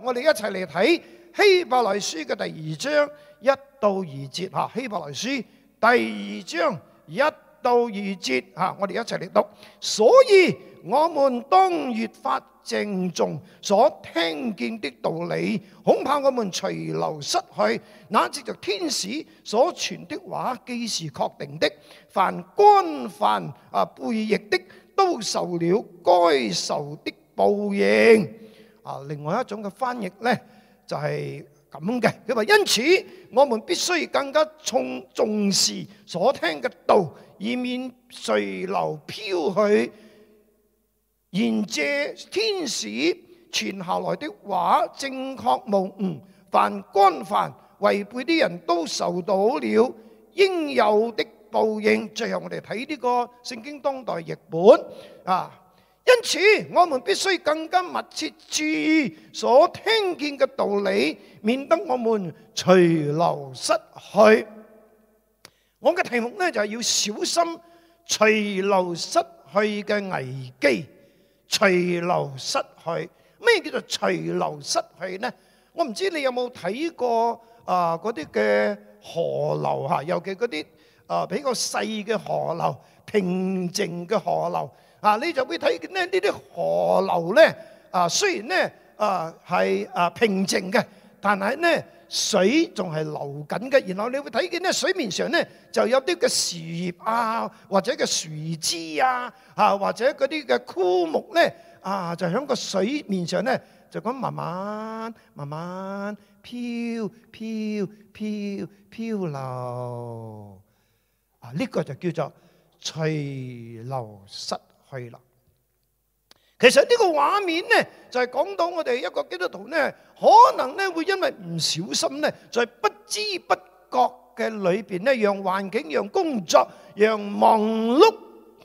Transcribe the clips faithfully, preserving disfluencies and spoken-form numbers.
我哋一齊嚟睇希伯來書嘅第二章一到二節吓。希伯來書第二章一到二節吓，我哋一齊嚟讀。所以我們當越發鄭重所聽見的道理，恐怕我們隨流失去。那藉着天使所傳的話，既是確定的，凡干犯啊悖逆的，都受了該受的報應。啊，另外一種嘅翻譯呢，就係咁嘅，佢話因此我們必須更加重重視所聽嘅道，以免隨流飄去。然借天使傳下來的話正確無誤，凡干犯違背的人都受到了應有的報應。最後我哋睇呢個聖經當代譯本啊，因此我們必須更加密切注意所聽見嘅道理，免得我們隨流失去。我嘅題目呢，就係要小心隨流失去嘅危機。隨流失去，咩叫做隨流失去呢？我唔知你有冇睇過啊嗰啲嘅河流嚇，尤其嗰啲啊比較細嘅河流、平靜嘅河流啊，你就會睇見咧呢啲河流咧啊，雖然咧啊係啊平靜嘅，但係咧水仲係流緊嘅。然後你會睇見咧水面上咧就有啲嘅樹葉啊，或者嘅樹枝啊，啊或者嗰啲嘅枯木咧啊，就喺個水面上咧就咁慢慢慢慢飄飄飄飄流啊！呢個就叫做隨流失去啦。其實呢個畫面呢，就係講到我哋一個基督徒呢，可能呢會因為唔小心呢，在不知不覺嘅裏邊呢，讓環境、讓工作、讓忙碌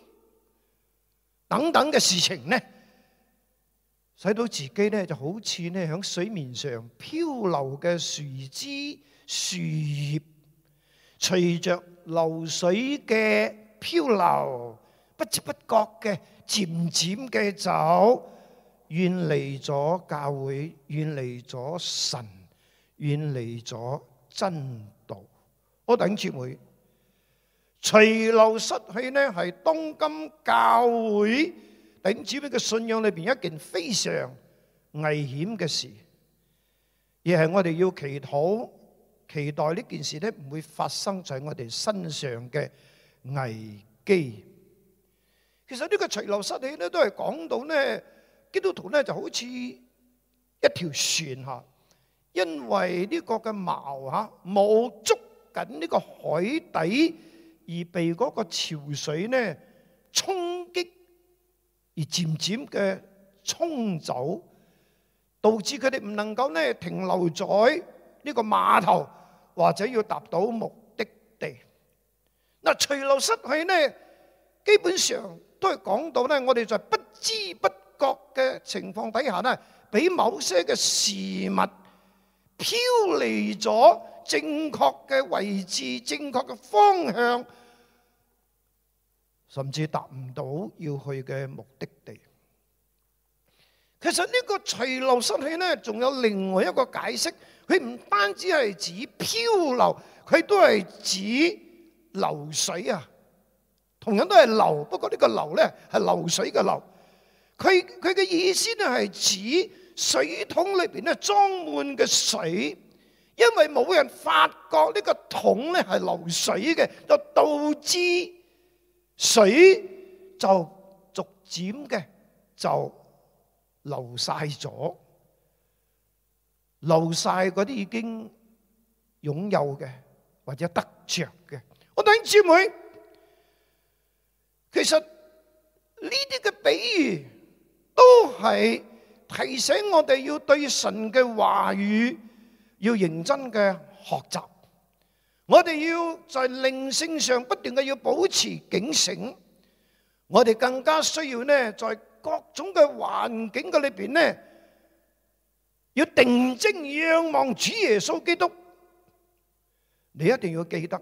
等等嘅事情呢，使到自己呢就好似呢喺水面上漂流嘅樹枝、樹葉，隨着流水嘅漂流，不知不覺嘅。漸漸嘅走，遠離咗教會，遠離咗神，遠離咗真道。我弟兄姊妹，隨流失去呢，係當今教會弟兄姊妹嘅信仰裏邊一件非常危險嘅事，而係我哋要祈禱，期待呢件事呢唔會發生在我哋身上嘅危機。其實呢個隨流失去咧，都係講到咧，基督徒咧就好似一條船嚇，因為呢個嘅錨嚇冇捉緊呢個海底，而被嗰個潮水咧衝擊，而漸漸嘅沖走，導致佢哋唔能夠咧停留在呢個碼頭，或者要達到目的地。嗱，隨流失去咧，基本上都係講到咧，我哋在不知不覺嘅情況底下咧，俾某些嘅事物飄離咗正確嘅位置、正確嘅方向，甚至達唔到要去嘅目的地。其實呢個隨流失去咧，仲有另外一個解釋，佢唔單止係指漂流，佢都係指流水啊。同樣都係流，不過呢個流咧係流水嘅流。佢佢嘅意思咧係指水桶裏邊咧裝滿嘅水，因為冇人發覺呢個桶咧係流水嘅，就導致水就逐漸嘅就流晒咗，流晒嗰啲已經擁有嘅或者得着嘅。我弟兄姊妹，其實呢啲嘅比喻都係提醒我哋要對神嘅話語要認真嘅學習，我哋要在靈性上不斷嘅要保持警醒，我哋更加需要呢，在各種嘅環境嘅裏邊呢，要定睛仰望主耶穌基督。你一定要記得，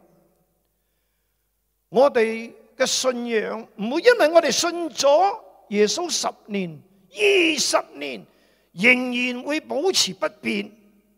我哋嘅信仰唔會因為我哋信咗耶穌十年、二十年， 仍然會保持不變，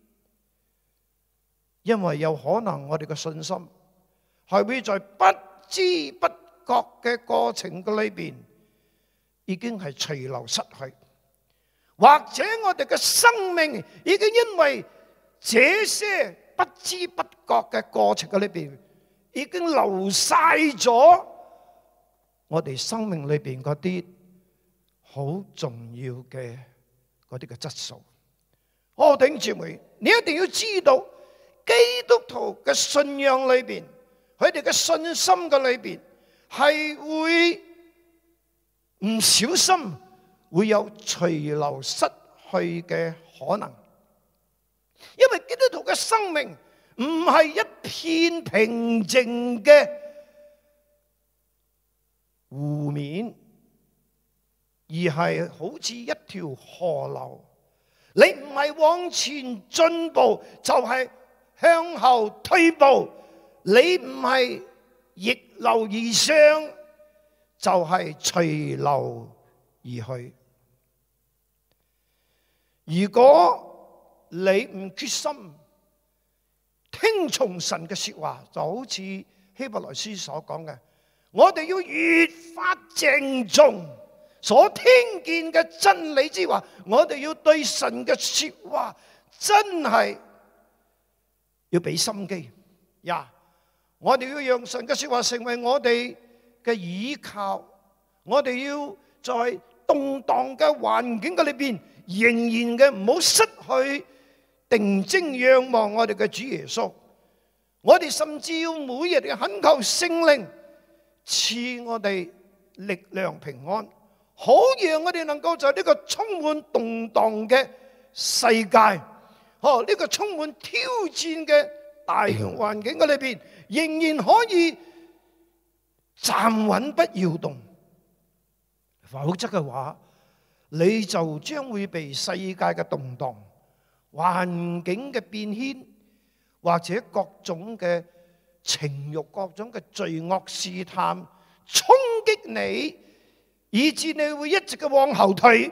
因為有可能我哋嘅信心係會在不知不覺嘅過程嘅裏邊已經係隨流失去，或者我哋嘅生命已經因為這些不知不覺嘅過程嘅裏邊已經流晒咗我哋生命裏邊嗰啲好重要嘅嗰啲嘅質素。我弟兄姊妹，你一定要知道基督徒嘅信仰裏邊，佢哋嘅信心嘅裏邊係會唔小心會有隨流失去嘅可能，因為基督徒嘅生命唔係一片平靜嘅湖面，而係好似一條河流。你唔係往前進步，就係向後退步；你唔係逆流而上，就係隨流而去。如果你唔決心聽從神嘅說話，就好似希伯來書所講嘅，我哋要越發鄭重所聽見嘅真理之話，我哋要對神嘅說話真係要俾心機呀！我哋要讓神嘅說話成為我哋嘅倚靠，我哋要在動盪嘅環境嘅裏邊，仍然嘅唔好失去定睛仰望我哋嘅主耶穌。我哋甚至要每日嘅懇求聖靈賜我哋力量平安，好讓我哋能夠在呢個充滿動盪嘅世界，哦，呢個充滿挑戰嘅大環境嘅裏邊，仍然可以站穩不搖動。否則嘅話，你就將會被世界嘅動盪、環境嘅變遷，或者各種嘅情慾、各種嘅罪惡試探衝擊你，以致你會一直嘅往後退，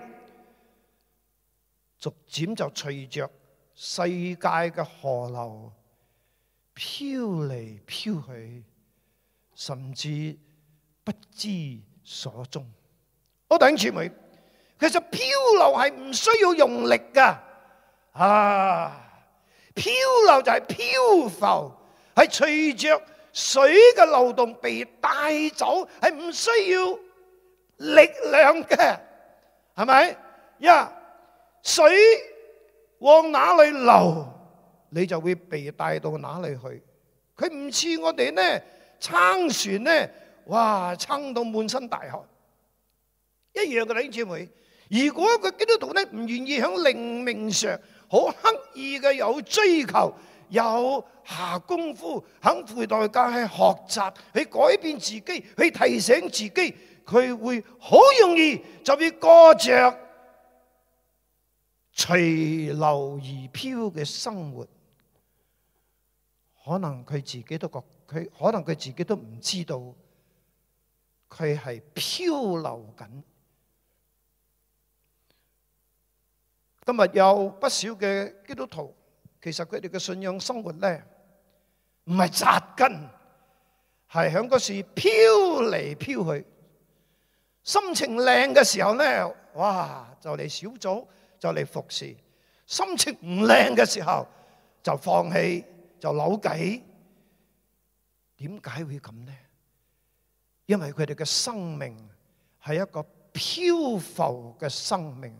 逐漸就隨着世界嘅河流飄嚟飄去，甚至不知所蹤。我弟兄姊妹，其實漂流係唔需要用力噶，啊，漂流就係漂浮，係隨着水嘅流動被帶走，係唔需要力量嘅，係咪？呀，水往哪裏流，你就會被帶到哪裏去。佢唔似我哋呢撐船呢，哇，撐到滿身大汗。一樣嘅弟兄姊妹，如果個基督徒呢唔願意喺靈命上好刻意嘅有追求，有下功夫，肯付代價去學習，去改變自己，去提醒自己，佢會好容易就會過着隨流而飄嘅生活。可能佢自己都覺，佢可能佢自己都唔知道，佢係漂流緊。今日有不少嘅基督徒，其實佢哋嘅信仰生活咧，唔係紮根，係響嗰時飄嚟飄去。心情靚嘅時候咧，哇，就嚟小組，就嚟服侍；心情唔靚嘅時候，就放棄，就扭計。點解會咁呢？因為佢哋嘅生命係一個漂浮嘅生命。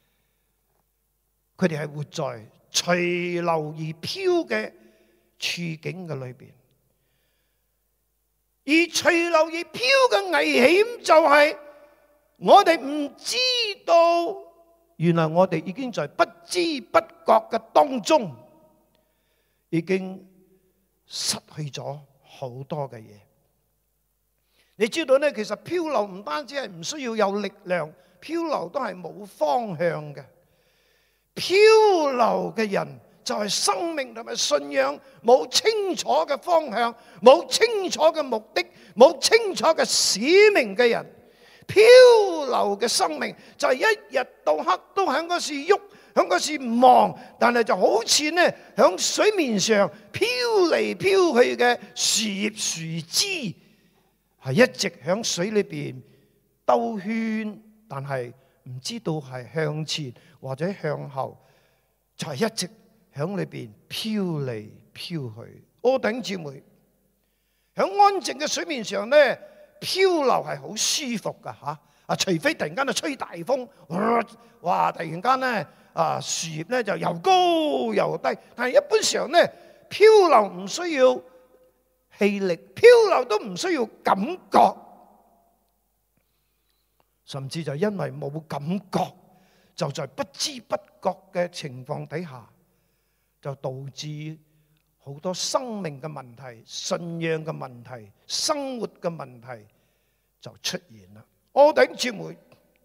佢哋係活在隨流而飄嘅處境嘅裏邊，而隨流而飄嘅危險就係我哋唔知道，原來我哋已經在不知不覺嘅當中，已經失去咗好多嘅嘢。你知道呢，其實漂流唔單止係唔需要有力量，漂流都係冇方向嘅。漂流嘅人就係生命同埋信仰冇清楚嘅方向，冇清楚嘅目的，冇清楚嘅使命嘅人。漂流嘅生命就係一日到黑都喺嗰時喐， 響嗰時唔望，但係就好似呢響水面上飄嚟飄去嘅樹葉樹枝，係一直響水裏邊兜圈，但係唔知道係向前或者向後，就係一直響裏邊飄嚟飄去。我弟兄姊妹，響安靜嘅水面上呢，漂流係好舒服噶吓，啊，除非突然間啊吹大風，哇！突然間呢啊樹葉呢就又高又低，但係一般上呢漂流唔需要氣力，漂流都唔需要感覺，甚至就因為冇感覺，就在不知不覺嘅情況底下，就導致好多生命嘅問題、信仰嘅問題、生活嘅問題就出現啦。我弟兄姊妹，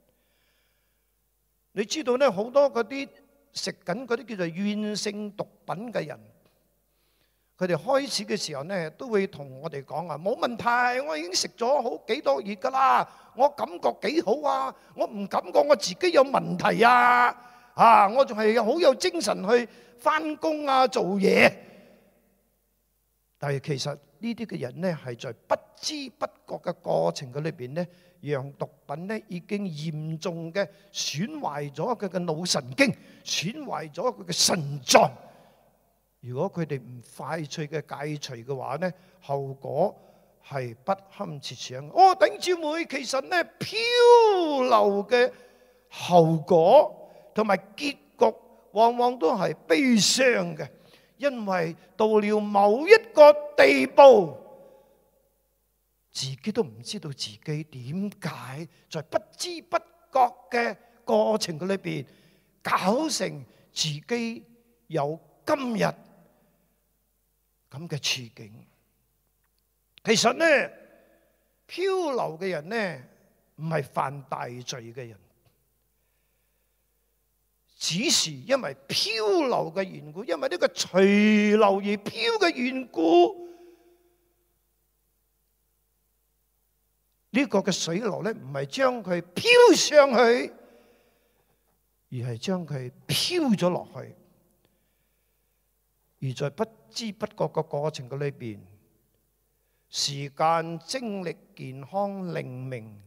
你知道咧，好多嗰啲食緊嗰啲叫做軟性毒品嘅人，佢哋開始嘅時候咧，都會同我哋講啊，冇問題，我已經食咗好幾多月噶啦，我感覺幾好啊，我唔感覺我自己有問題啊，啊，我仲係好有精神去翻工啊，做嘢。但係其實呢啲嘅人呢，係在不知不覺嘅過程嘅裏邊呢，讓毒品呢已經嚴重嘅損壞咗佢嘅腦神經，損壞咗佢嘅腎臟。如果佢哋唔快脆嘅戒除嘅話呢，後果係不堪設想。哦，弟兄姊妹，其實呢漂流嘅後果同埋結局，往往都係悲傷嘅。因為到了某一個地步，自己都唔知道自己點解在不知不覺嘅過程嘅裏邊，搞成自己有今日咁嘅處境。其實呢，漂流嘅人呢，唔係犯大罪嘅人，只是因為漂流嘅緣故，因為呢個隨流而漂嘅緣故，呢個嘅水流咧唔係將佢漂上去，而係將佢漂咗落去，而在不知不覺嘅過程嘅裏邊，時間、精力、健康、靈命，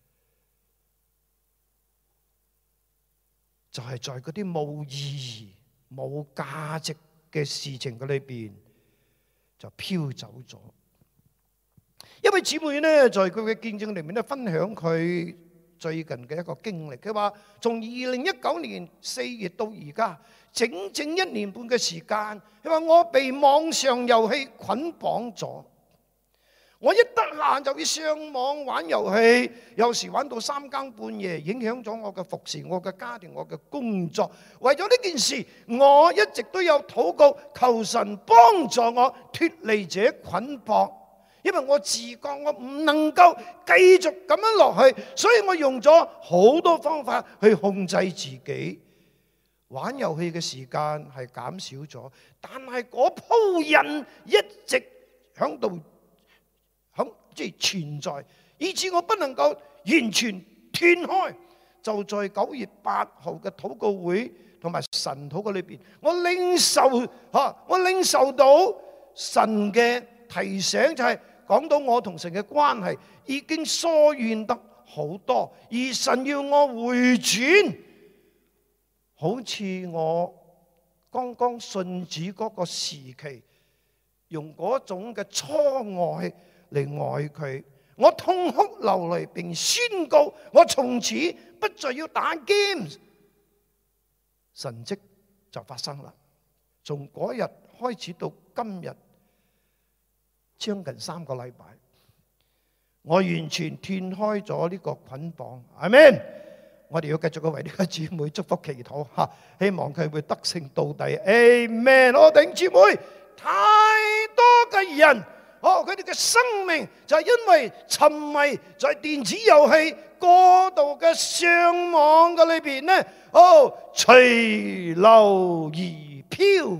就係在嗰啲冇意義、冇價值嘅事情嘅裏邊，就飄走咗。一位姊妹呢，在佢嘅見證裏面咧，分享佢最近嘅一個經歷。佢話：從二零一九年四月到而家，整整一年半嘅時間，佢話我被網上遊戲捆綁咗。我一得閒就要上網玩遊戲，有時玩到三更半夜，影響咗我嘅服侍、我嘅家庭、我嘅工作。為咗呢件事，我一直都有禱告，求神幫助我脫離這捆綁。因為我自覺我唔能夠繼續咁樣落去，所以我用咗好多方法去控制自己。玩遊戲嘅時間係減少咗，但係嗰鋪癮一直響度。即係存在，以致我不能夠完全斷開。就在九月八號嘅禱告會同埋神禱告裏邊，我領受吓，我領受到神嘅提醒，就係講到我同神嘅關係已經疏遠得好多，而神要我回轉，好似我剛剛信主嗰個時期，用嗰種嘅初愛嚟愛佢，我痛哭流淚，並宣告我從此不再要打 game。神蹟就發生啦！從嗰日開始到今日，將近三個禮拜，我完全斷開咗呢個捆綁。阿們，我哋要繼續去為呢個姊妹祝福祈禱吓，希望佢會得勝到底。阿們，我頂姊妹，太多嘅人。哦，佢哋嘅生命就係因為沉迷在電子遊戲過度嘅上網嘅裏邊呢，哦，隨流而漂。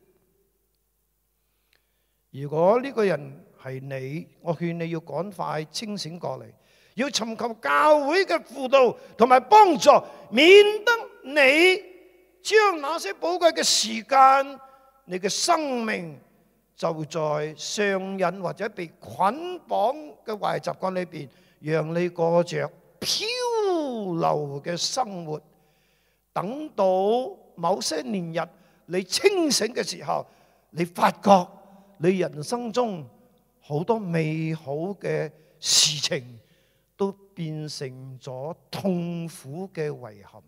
如果呢個人係你，我勸你要趕快清醒過嚟，要尋求教會嘅輔導同埋幫助，免得你將那些寶貴嘅時間，你嘅生命就在上癮或者被捆綁嘅壞習慣裏邊，讓你過着漂流嘅生活。等到某些年日你清醒嘅時候，你發覺你人生中好多美好嘅事情都變成咗痛苦嘅遺憾。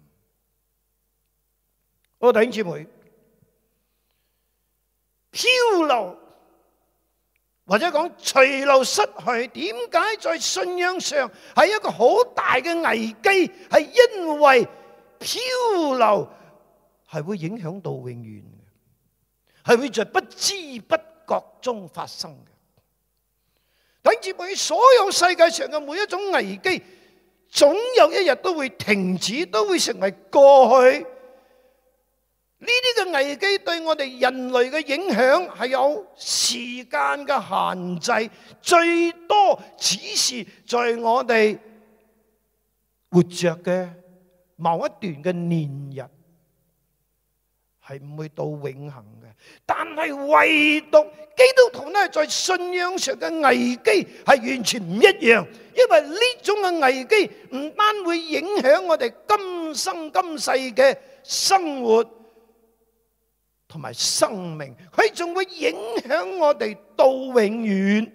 我弟兄姊妹，漂流或者講隨流失去，點解在信仰上係一個好大嘅危機？係因為漂流係會影響到永遠嘅，係會在不知不覺中發生嘅。弟兄姊妹，所有世界上嘅每一種危機，總有一日都會停止，都會成為過去。呢啲嘅危機對我哋人類嘅影響係有時間嘅限制，最多只是在我哋活着嘅某一段嘅年日，係唔會到永恆嘅。但係唯獨基督徒呢，在信仰上嘅危機係完全唔一樣，因為呢種嘅危機唔單會影響我哋今生今世嘅生活同埋生命，佢仲會影響我哋到永遠。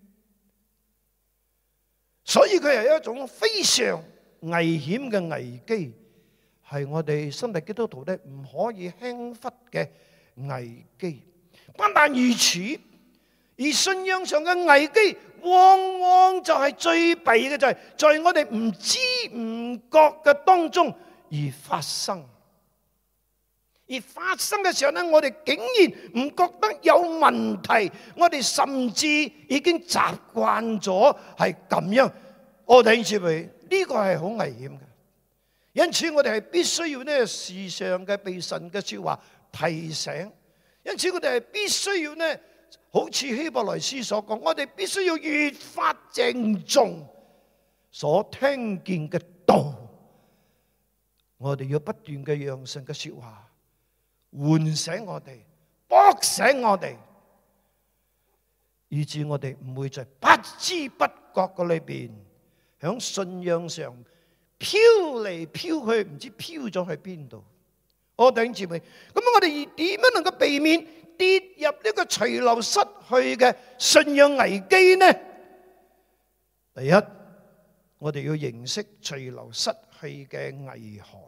所以佢係一種非常危險嘅危機，係我哋新約基督徒咧唔可以輕忽嘅危機。不但如此，而信仰上嘅危機，往往就係最弊嘅，就係在我哋唔知唔覺嘅當中而發生。而發生嘅時候呢，我哋竟然唔覺得有問題，我哋甚至已經習慣咗係咁樣。我哋認為呢個係好危險嘅，因此我哋係必須要呢時常嘅被神嘅說話提醒。因此我哋係必須要呢，好似希伯來書所講，我哋必須要越發鄭重所聽見嘅道。我哋要不斷嘅讓神嘅說話喚醒我哋，駁醒我哋，以致我哋唔會在不知不覺嘅裏邊，響信仰上飄嚟飄去，唔知飄咗去邊度。我弟兄姊妹，咁我哋點樣能夠避免跌入呢個隨流失去嘅信仰危機呢？第一，我哋要認識隨流失去嘅危害。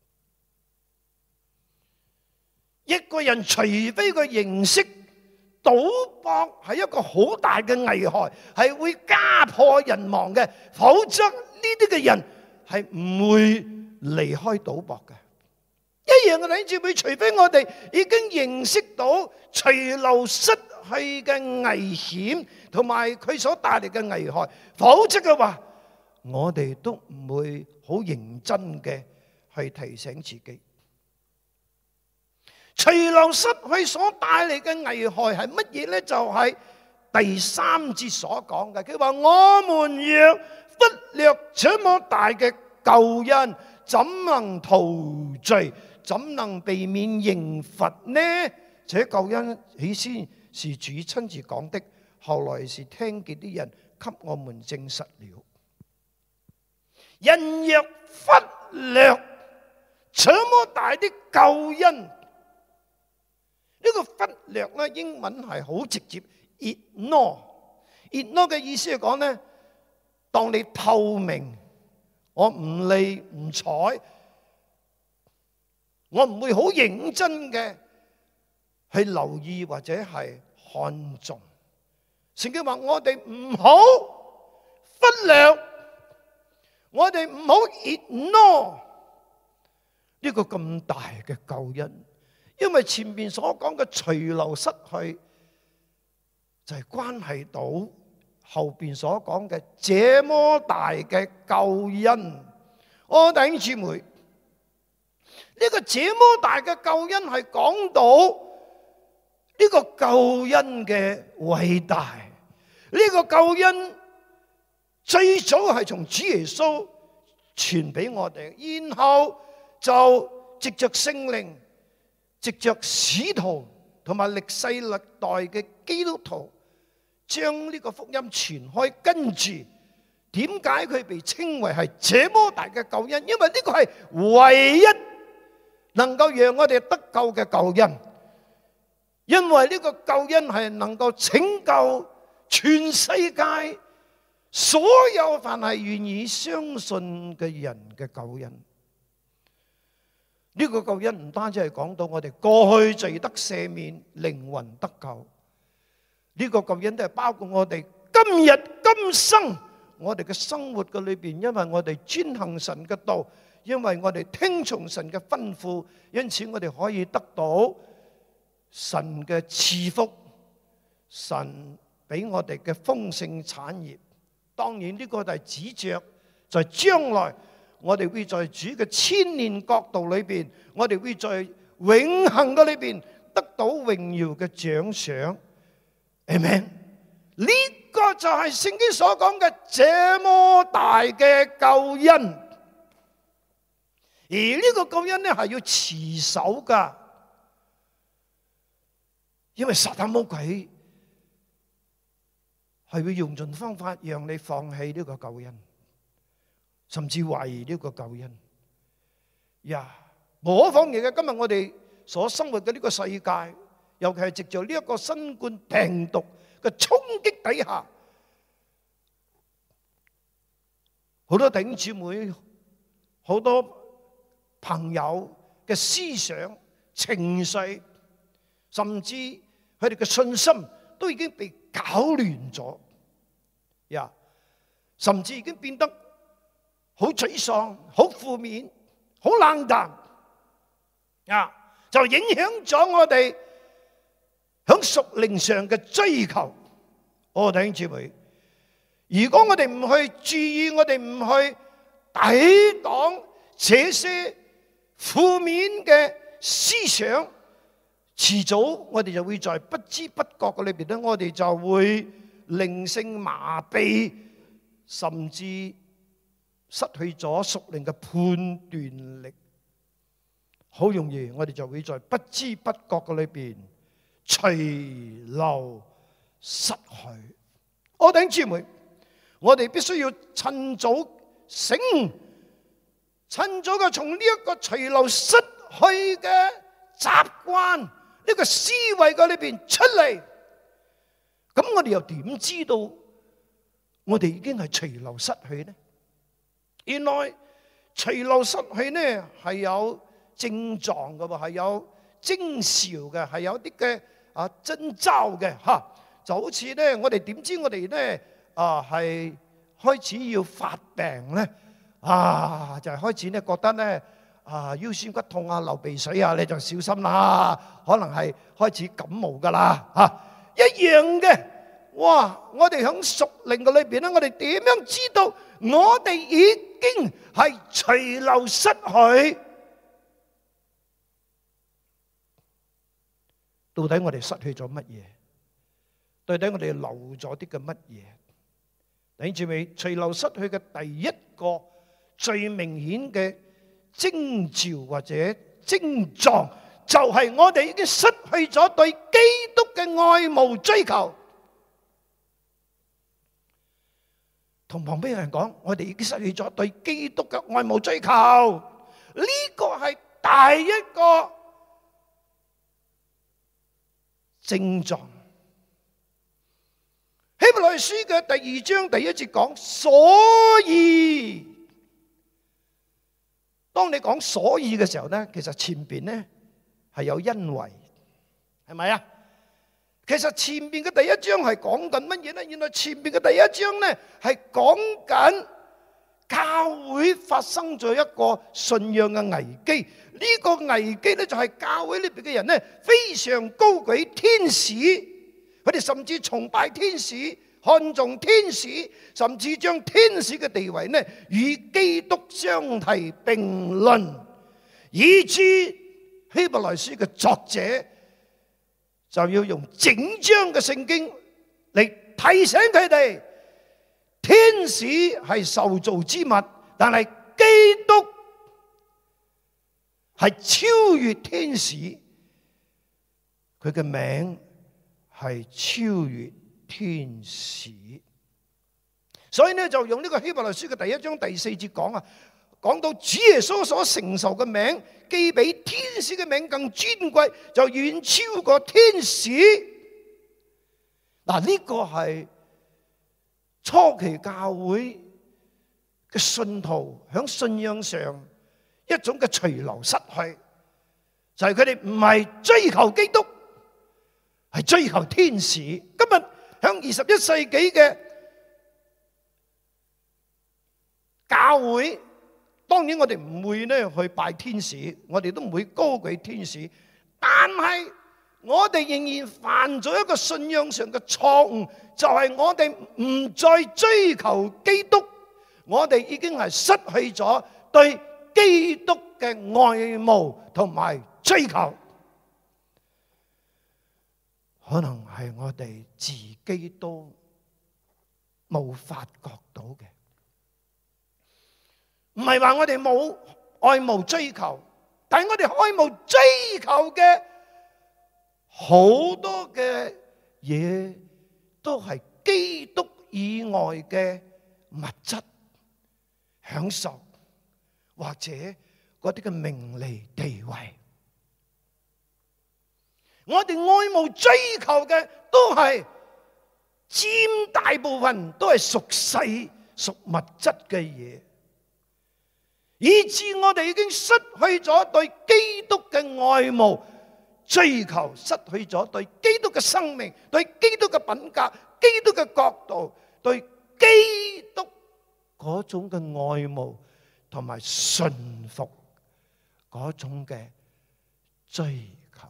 一個人除非佢認識賭博係一個好大嘅危害，係會家破人亡嘅，否則呢啲嘅人係唔會離開賭博嘅。一樣嘅弟兄姊妹，除非我哋已經認識到隨流失去嘅危險同埋佢所帶嚟嘅危害，否則嘅話，我哋都唔會好認真嘅去提醒自己。隨流失去所帶嚟嘅危害係乜嘢呢？就係第三節所講嘅，佢話我們若忽略這麼大嘅救恩，怎能逃罪？怎能避免刑罰呢？這救恩起先是主親自講的，後來是聽見啲人給我們證實了。人若忽略這麼大的救恩，呢個忽略咧，英文係好直接 ，ignore。ignore 嘅意思係講咧，當你透明，我唔理唔睬。我唔會好認真嘅去留意或者係看重。聖經話我哋唔好忽略，我哋唔好 ignore 呢個咁大嘅救恩，因為前面所講嘅隨流失去就係關係到後邊所講嘅這麼大嘅救恩。我弟兄姊妹，呢個這麼大嘅救恩係講到呢個救恩嘅偉大。呢個救恩最早係從主耶穌傳俾我哋，然後就藉着聖靈，藉着使徒同埋歷世歷代嘅基督徒，將呢個福音傳開。跟住點解佢被稱為係這麼大嘅救恩？因為呢個係唯一能夠讓我哋得救嘅救恩，因為呢個救恩係能夠拯救全世界所有凡係願意相信嘅人嘅救恩。呢個救恩唔單止係講到我哋過去罪得赦免、靈魂得救，呢個救恩都係包括我哋今日今生我哋嘅生活嘅裏邊，因為我哋遵行神嘅道，因為我哋聽從神嘅吩咐，因此我哋可以得到神嘅賜福，神俾我哋嘅豐盛產業。當然呢個就係指着在將來我哋會在主嘅千年國度裏邊，我哋會在永恆嘅裏邊得到榮耀嘅獎賞。Amen。呢個就係聖經所講嘅這麼大嘅救恩，而呢個救恩呢係要持守噶，因為撒旦魔鬼係會用盡方法讓你放棄呢個救恩，甚至懷疑呢個救恩。呀，無可否認嘅，今日我哋所生活嘅呢個世界，尤其係藉着呢一個新冠病毒嘅衝擊底下，好多弟兄姊妹、好多朋友嘅思想、情緒，甚至佢哋嘅信心都已經被搞亂咗，呀，甚至已經變得好沮喪、好負面、好冷淡，啊，就影響咗我哋響屬靈上嘅追求。我弟兄姊妹，如果我哋唔去注意，我哋唔去抵擋這些負面嘅思想，遲早我哋就會在不知不覺嘅裏邊咧，我哋就會靈性麻痹，甚至失去咗屬靈嘅判斷力。好容易我哋就會在不知不覺嘅裏邊隨流失去。我弟兄姊妹，我哋必須要趁早醒，趁早嘅從呢一個隨流失去嘅習慣、呢個思維嘅裏邊出嚟。咁我哋又點知道我哋已經係隨流失去呢？原來隨流失去呢係有症狀嘅喎，係有徵兆嘅，係有啲嘅啊徵兆嘅嚇。就好似咧，我哋點知我哋咧啊係開始要發病咧？啊，就係開始咧覺得咧啊腰酸骨痛啊、流鼻水啊，你就小心啦，可能係開始感冒噶啦嚇。一樣嘅，哇！我哋喺屬靈嘅裏邊咧，我哋點樣知道我哋已經係隨流失去？到底我哋失去咗乜嘢？到底我哋留咗啲嘅乜嘢？弟兄姊妹，隨流失去嘅第一個最明顯嘅徵兆或者症狀，就係我哋已經失去咗對基督嘅愛慕追求。同旁邊人講，我哋已經失去咗對基督嘅愛慕追求。呢個係第一個症狀。希伯來書嘅第二章第一節講，所以當你講所以嘅時候咧，其實前邊咧係有因為，係咪啊？其實前邊嘅第一章係講緊乜嘢咧？原來前邊嘅第一章咧係講緊教會發生咗一個信仰嘅危機。呢個危機咧就係教會裏邊嘅人咧非常高舉天使，佢哋甚至崇拜天使，看重天使，甚至將天使嘅地位咧與基督相提並論，以致希伯來書嘅作者就要用整章嘅聖經嚟提醒佢哋，天使係受造之物，但係基督係超越天使，佢嘅名係超越天使。所以呢，就用呢個希伯來書嘅第一章第四節講啊，講到主耶穌所承受嘅名，既比天使嘅名更尊貴，就遠超過天使。嗱，呢個係初期教會嘅信徒喺信仰上一種嘅隨流失去，就係佢哋唔係追求基督，係追求天使。今日喺二十一世紀嘅教會，當然我哋唔會咧去拜天使，我哋都唔會高舉天使，但係我哋仍然犯咗一個信仰上嘅錯誤，就係我哋唔再追求基督，我哋已經係失去咗對基督嘅愛慕同埋追求。可能係我哋自己都冇發覺到嘅。唔係話我哋冇愛慕追求，但係我哋愛慕追求嘅好多嘅嘢都係基督以外嘅物質享受，或者嗰啲嘅名利地位。我哋愛慕追求嘅都係佔大部分都係屬世屬物質嘅嘢，以致我哋已經失去咗對基督嘅愛慕追求，失去咗對基督嘅生命、對基督嘅品格、基督嘅角度、對基督嗰種嘅愛慕同埋順服嗰種嘅追求。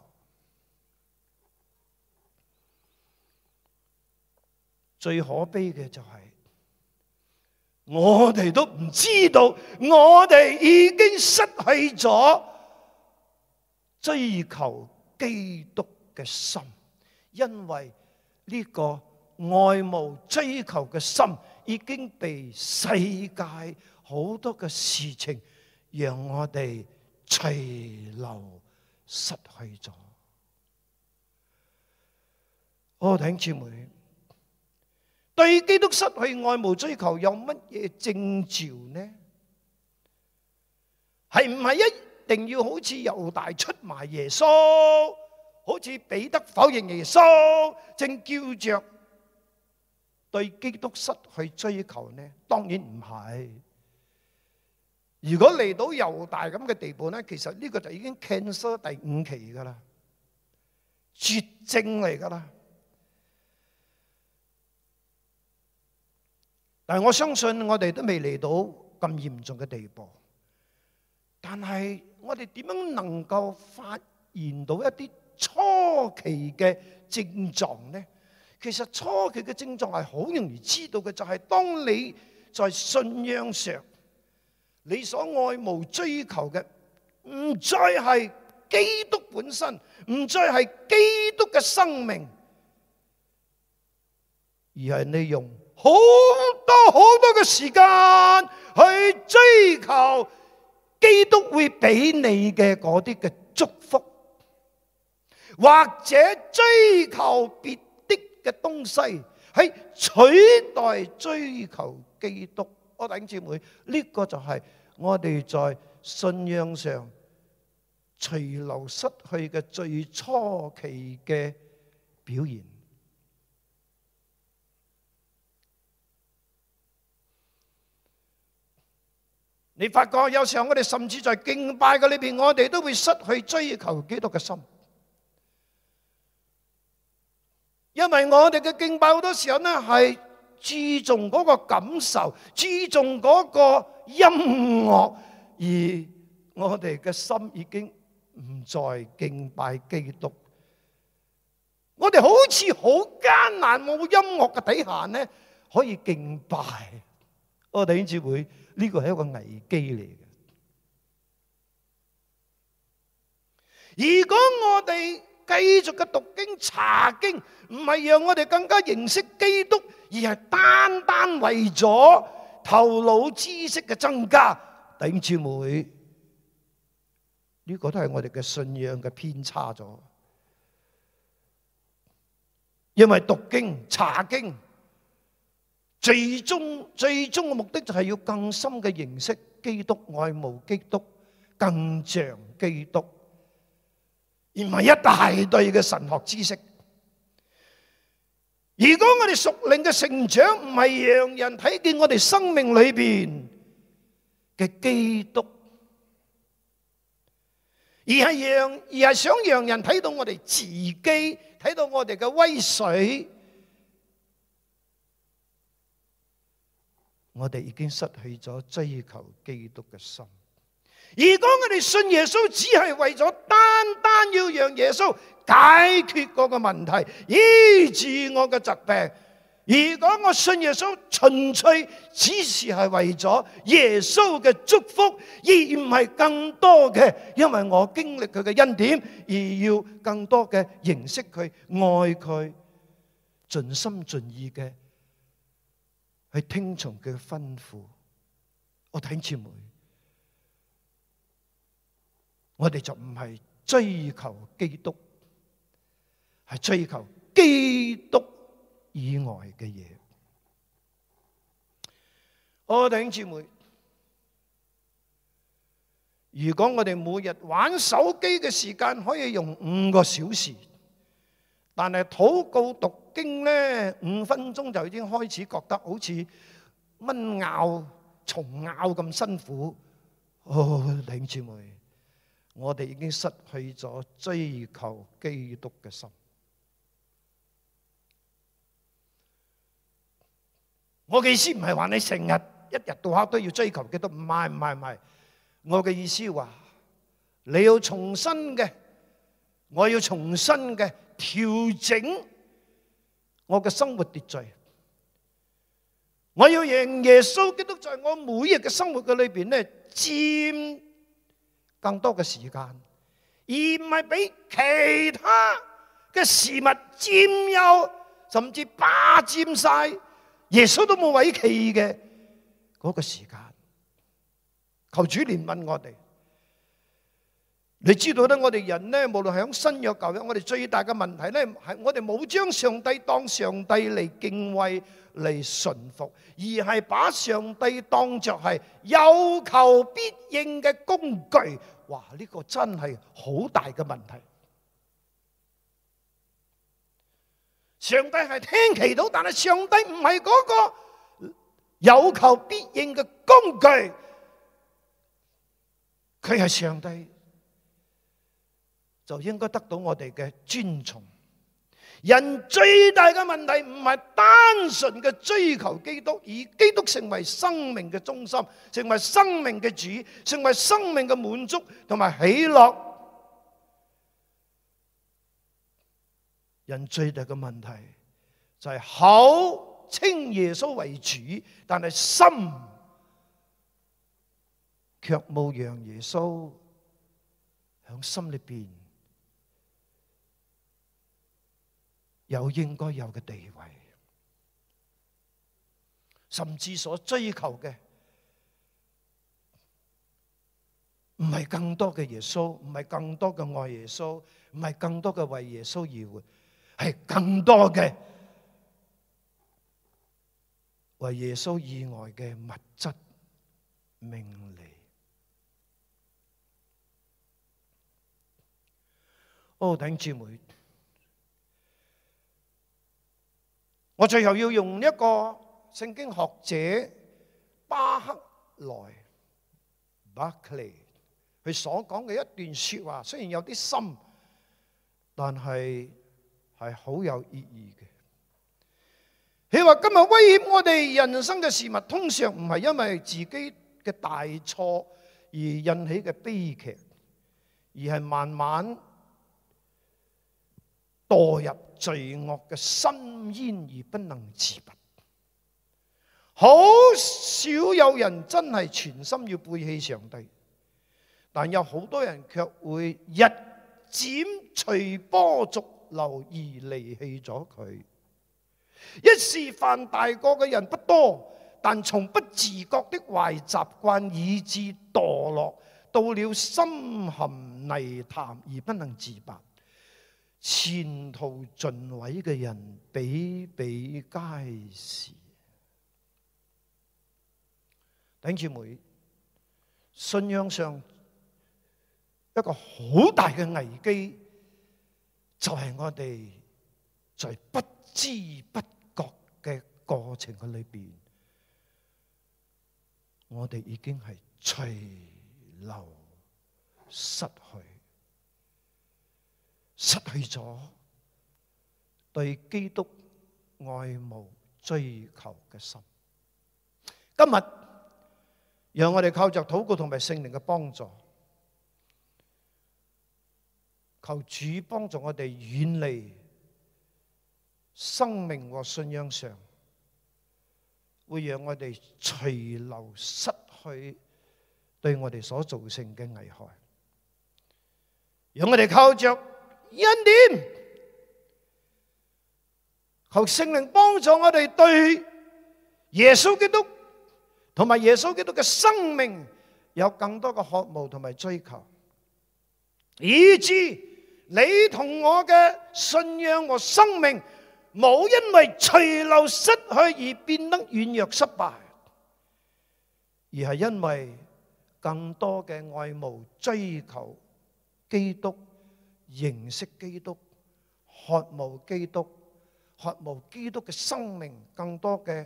最可悲嘅就係，我哋都唔知道，我哋已經失去咗追求基督嘅心，因為呢個愛慕追求嘅心已經被世界好多嘅事情讓我哋隨流失去咗。我弟兄姊妹，對基督失去愛慕追求有乜嘢徵兆呢？係唔係一定要好似猶大出賣耶穌，好似彼得否認耶穌，正叫着對基督失去追求呢？當然唔係。如果嚟到猶大咁嘅地步呢，其實呢個就已經 cancel 第五期噶啦，絕症嚟噶啦。但係我相信我哋都未嚟到咁嚴重嘅地步，但係我哋點樣能夠發現到一啲初期嘅症狀呢？其實初期嘅症狀係好容易知道嘅，就係當你在信仰上你所愛慕追求嘅唔再係基督本身，唔再係基督嘅生命，而係你用好多好多嘅時間去追求基督會俾你嘅嗰啲嘅祝福，或者追求別的嘅東西，係取代追求基督。我弟兄姊妹，呢個就係我哋在信仰上隨流失去嘅最初期嘅表現。你發覺有時候我哋甚至在敬拜嘅裏邊，我哋都會失去追求基督嘅心，因為我哋嘅敬拜好多時候呢係注重嗰個感受，注重嗰個音樂，而我哋嘅心已經唔再敬拜基督。我哋好似好艱難，冇音樂嘅底下呢可以敬拜。我哋弟兄姊妹，呢個係一個危機嚟嘅。如果我哋繼續嘅讀經查經，唔係讓我哋更加認識基督，而係單單為咗頭腦知識嘅增加，弟兄姊妹， 呢個都係我哋嘅信仰嘅偏差咗。因為讀經查經，最終最終嘅目的就係要更深嘅認識基督，愛慕基督，更像基督，而唔係一大堆嘅神學知識。如果我哋屬靈嘅成長唔係讓人睇見我哋生命裏邊嘅基督，而係讓而係想讓人睇到我哋自己，睇到我哋嘅威水，我哋已經失去咗追求基督嘅心。如果我哋信耶穌只係為咗單單要讓耶穌解決嗰個問題，醫治我嘅疾病，如果我信耶穌純粹只是係為咗耶穌嘅祝福，而唔係更多嘅因為我經歷佢嘅恩典，而要更多嘅認識佢、愛佢，盡心盡意嘅去聽從佢嘅吩咐，我弟兄姊妹，我哋就唔係追求基督，係追求基督以外嘅嘢。我弟兄姊妹，如果我哋每日玩手機嘅時間可以用五個小時，但係禱告讀經呢，五分鐘就已經開始覺得好似蚊咬蟲咬咁辛苦。哦，弟兄姊妹，我哋已經失去咗追求基督嘅心。我嘅意思唔係話你成日一日到黑都要追求基督，唔係唔係唔係。我嘅意思話，你要重新嘅，我要重新嘅調整我嘅生活秩序。我要讓耶穌基督在我每日嘅生活嘅裏邊咧，佔更多嘅時間，而唔係俾其他嘅事物佔有，甚至霸佔晒耶穌都冇位企嘅嗰個時間。求主憐憫我哋。你知道咧，我哋人咧，無論係喺新約舊約，我哋最大嘅問題咧，係我哋冇將上帝當上帝嚟敬畏嚟順服，而係把上帝當作係有求必應嘅工具。哇！呢個真係好大嘅問題。上帝係聽祈禱，但係上帝唔係嗰個有求必應嘅工具，佢係上帝，就應該得到我哋嘅尊重。人最大嘅問題唔係單純嘅追求基督，以基督成為生命嘅中心，成為生命嘅主，成為生命嘅滿足同埋喜樂。人最大嘅問題就係口稱耶穌為主，但係心卻冇讓耶穌喺心裏邊有應該有嘅地位，甚至所追求嘅唔係更多嘅耶穌，唔係更多嘅愛耶穌，唔係更多嘅為耶穌而活，係更多嘅為耶穌以外嘅物質名利。哦，弟兄姊妹，我最後要用一個聖經學者巴克萊 Barclay 佢所講嘅一段說話，雖然有啲深，但係係好有意義嘅。佢話今日威脅我哋人生嘅事物，通常唔係因為自己嘅大錯而引起嘅悲劇，而係慢慢墮入罪惡嘅深淵而不能自拔。好少有人真係全心要背棄上帝，但有好多人卻會日漸隨波逐流而離棄咗佢。一時犯大過嘅人不多，但從不自覺的壞習慣以致墮落，到了深陷泥潭而不能自拔，前途盡毀嘅人比比皆是。弟兄姊妹，信仰上一個好大嘅危機，就係我哋在不知不覺嘅過程嘅裏邊，我哋已經係隨流失去，失去咗對基督愛慕追求嘅心。今日讓我哋靠着禱告同埋聖靈嘅幫助，求主幫助我哋遠離生命和信仰上會讓我哋隨流失去對我哋所造成嘅危害。讓我哋靠着恩典，求聖靈幫助我哋對耶穌基督同埋耶穌基督嘅生命有更多嘅渴慕同埋追求，以致你同我嘅信仰和生命冇因為隨流失去而變得軟弱失敗，而係因為更多嘅愛慕追求基督，認識基督，渴慕基督，渴慕基督嘅生命，更多嘅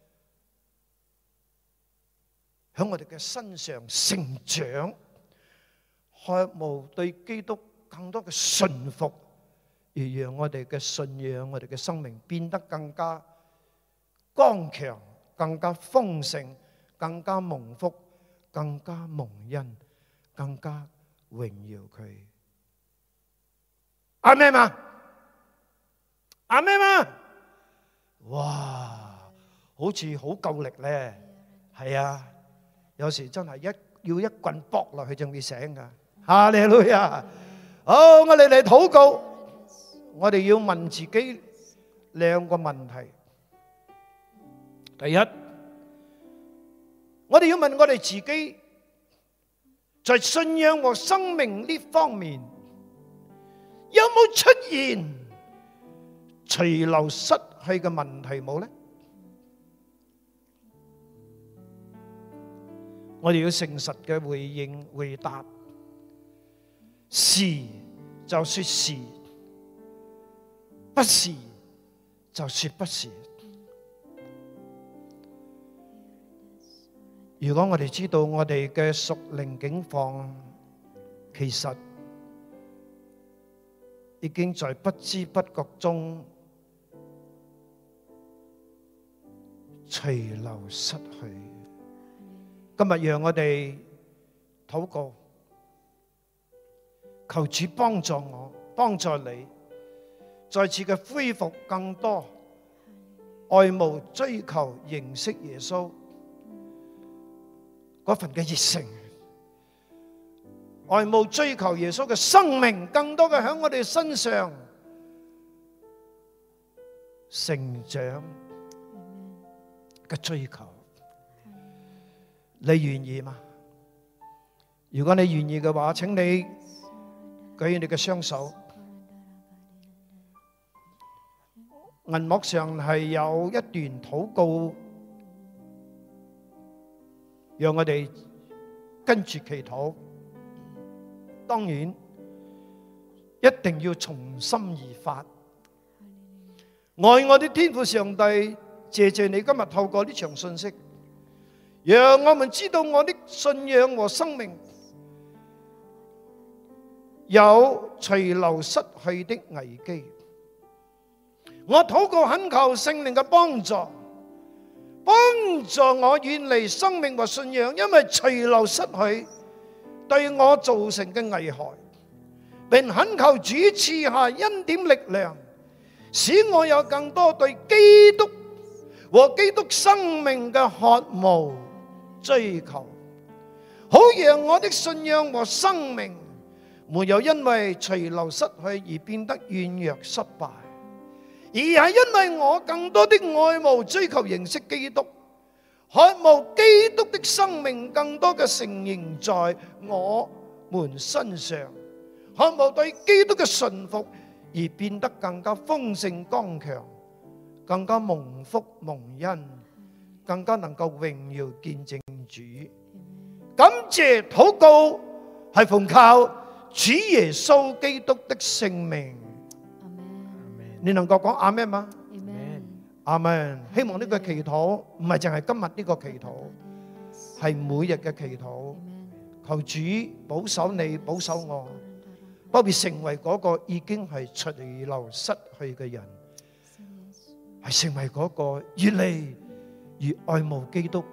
喺我哋嘅身上成長，渴慕對基督更多嘅順服，而讓我哋嘅信仰，我哋嘅生命變得更加剛強，更加豐盛，更加蒙福，更加蒙恩，更加榮耀佢。阿們嘛，阿們嘛，哇，好似好夠力咧，係啊，有時真係一要一棍搏落去就會醒噶。哈利路亞！好，我哋嚟禱告，我哋要問自己兩個問題。第一，我哋要問我哋自己，在信仰和生命呢方面，有冇出現隨流失去嘅問題冇呢？我哋要誠實嘅回應回答，是就說是，不是就說不是。如果我哋知道我哋嘅屬靈境況，其實已經在不知不覺中隨流失去。今日讓我哋禱告，求主幫助我，幫助你，再次嘅恢復更多愛慕、追求、認識耶穌嗰份嘅熱誠，愛慕、追求耶穌嘅生命，更多嘅喺我哋身上成長嘅追求。你願意嗎？如果你願意嘅話，請你舉起你嘅雙手。銀幕上係有一段禱告，讓我哋跟住祈禱。當然，一定要從心而發。愛我的天父上帝，謝謝你今日透過呢場信息，讓我們知道我的信仰和生命有隨流失去的危機。我禱告懇求聖靈嘅幫助，幫助我遠離生命和信仰因為隨流失去對我造成嘅危害，並懇求主賜下恩典力量，使我有更多對基督和基督生命嘅渴慕追求，好讓我的信仰和生命沒有因為隨流失去而變得軟弱失敗，而係因為我更多的愛慕追求認識基督，渴慕基督的生命更多嘅承認在我們身上， 渴慕對基督嘅順服而變得更加豐盛剛強，更加蒙福蒙恩，更加能夠榮耀見證主。感謝禱告係奉靠主耶穌基督的聖名。你能夠講阿們嗎？阿們。希望呢個祈禱唔係淨係今日呢個祈禱，係每日嘅祈禱。求主保守你，保守我，不必成為嗰個已經係隨流失去嘅人，係成為嗰個越嚟越愛慕基督、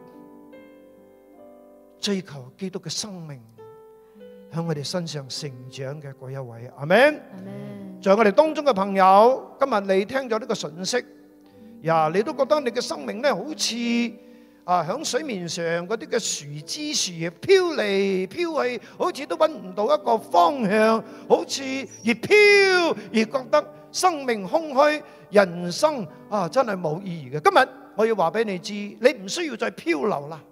追求基督嘅生命喺我哋身上成長嘅嗰一位。阿們。在我哋當中嘅朋友，今日你聽咗呢個信息，呀，你都覺得你嘅生命咧好似啊響水面上嗰啲嘅樹枝樹葉飄嚟飄去，好似都揾唔到一個方向，好似越飄越覺得生命空虛，人生啊真係冇意義嘅。今日我要話俾你知，你唔需要再漂流啦，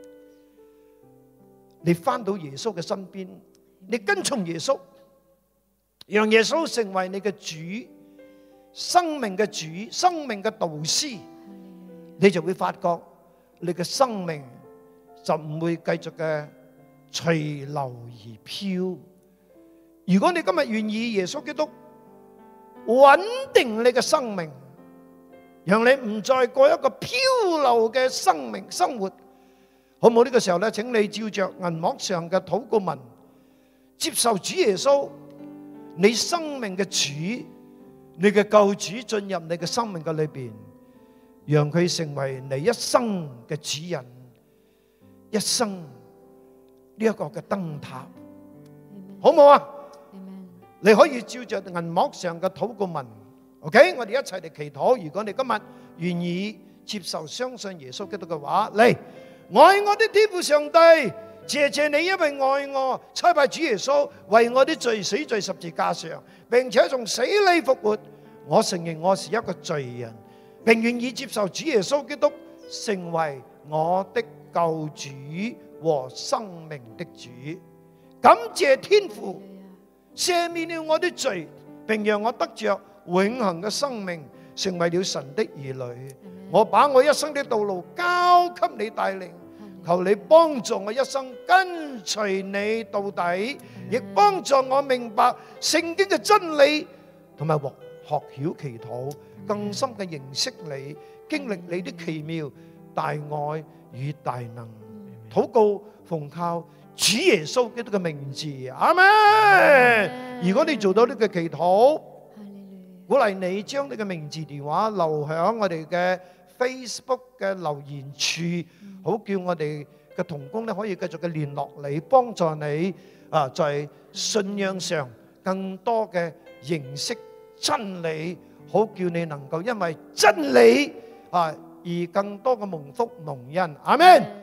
你翻到耶穌嘅身邊，你跟從耶穌，讓耶穌成為你嘅主，生命嘅主，生命嘅導師，你就會發覺你嘅生命就唔會繼續嘅隨流而飄。如果你今日願意耶穌基督穩定你嘅生命，讓你唔再過一個漂流嘅生命生活，好唔好？呢個時候咧，請你照着銀幕上嘅禱告文，接受主耶穌你生命嘅主，你嘅救主進入你嘅生命嘅裏邊，讓佢成為你一生嘅主人，一生呢一個嘅燈塔，好唔好啊？你可以照着銀幕上嘅禱告文 ，OK， 我哋一齊嚟祈禱。如果你今日願意接受相信耶穌基督嘅話，嚟，愛我的天父上帝，謝謝你，因為愛我，差派主耶穌為我的罪死在十字架上，並且從死裏復活。我承認我是一個罪人，並願意接受主耶穌基督成為我的救主和生命的主。感謝天父赦免了我的罪，並讓我得着永恆嘅生命，成為了神的兒女。我把我一生的道路交給你帶領，求你幫助我一生跟隨你到底，亦幫助我明白聖經嘅真理，同埋學學曉祈禱，更深嘅認識你，經歷你的奇妙大愛與大能。禱告奉靠主耶穌基督嘅名字，阿們。如果你做到呢個祈禱，鼓勵你將你嘅名字電話留響我哋嘅 Facebook 嘅留言處，好叫我哋嘅同工咧可以繼續嘅聯絡你，幫助你啊在信仰上更多嘅認識真理，好叫你能夠因為真理啊而更多嘅蒙福蒙恩，阿們。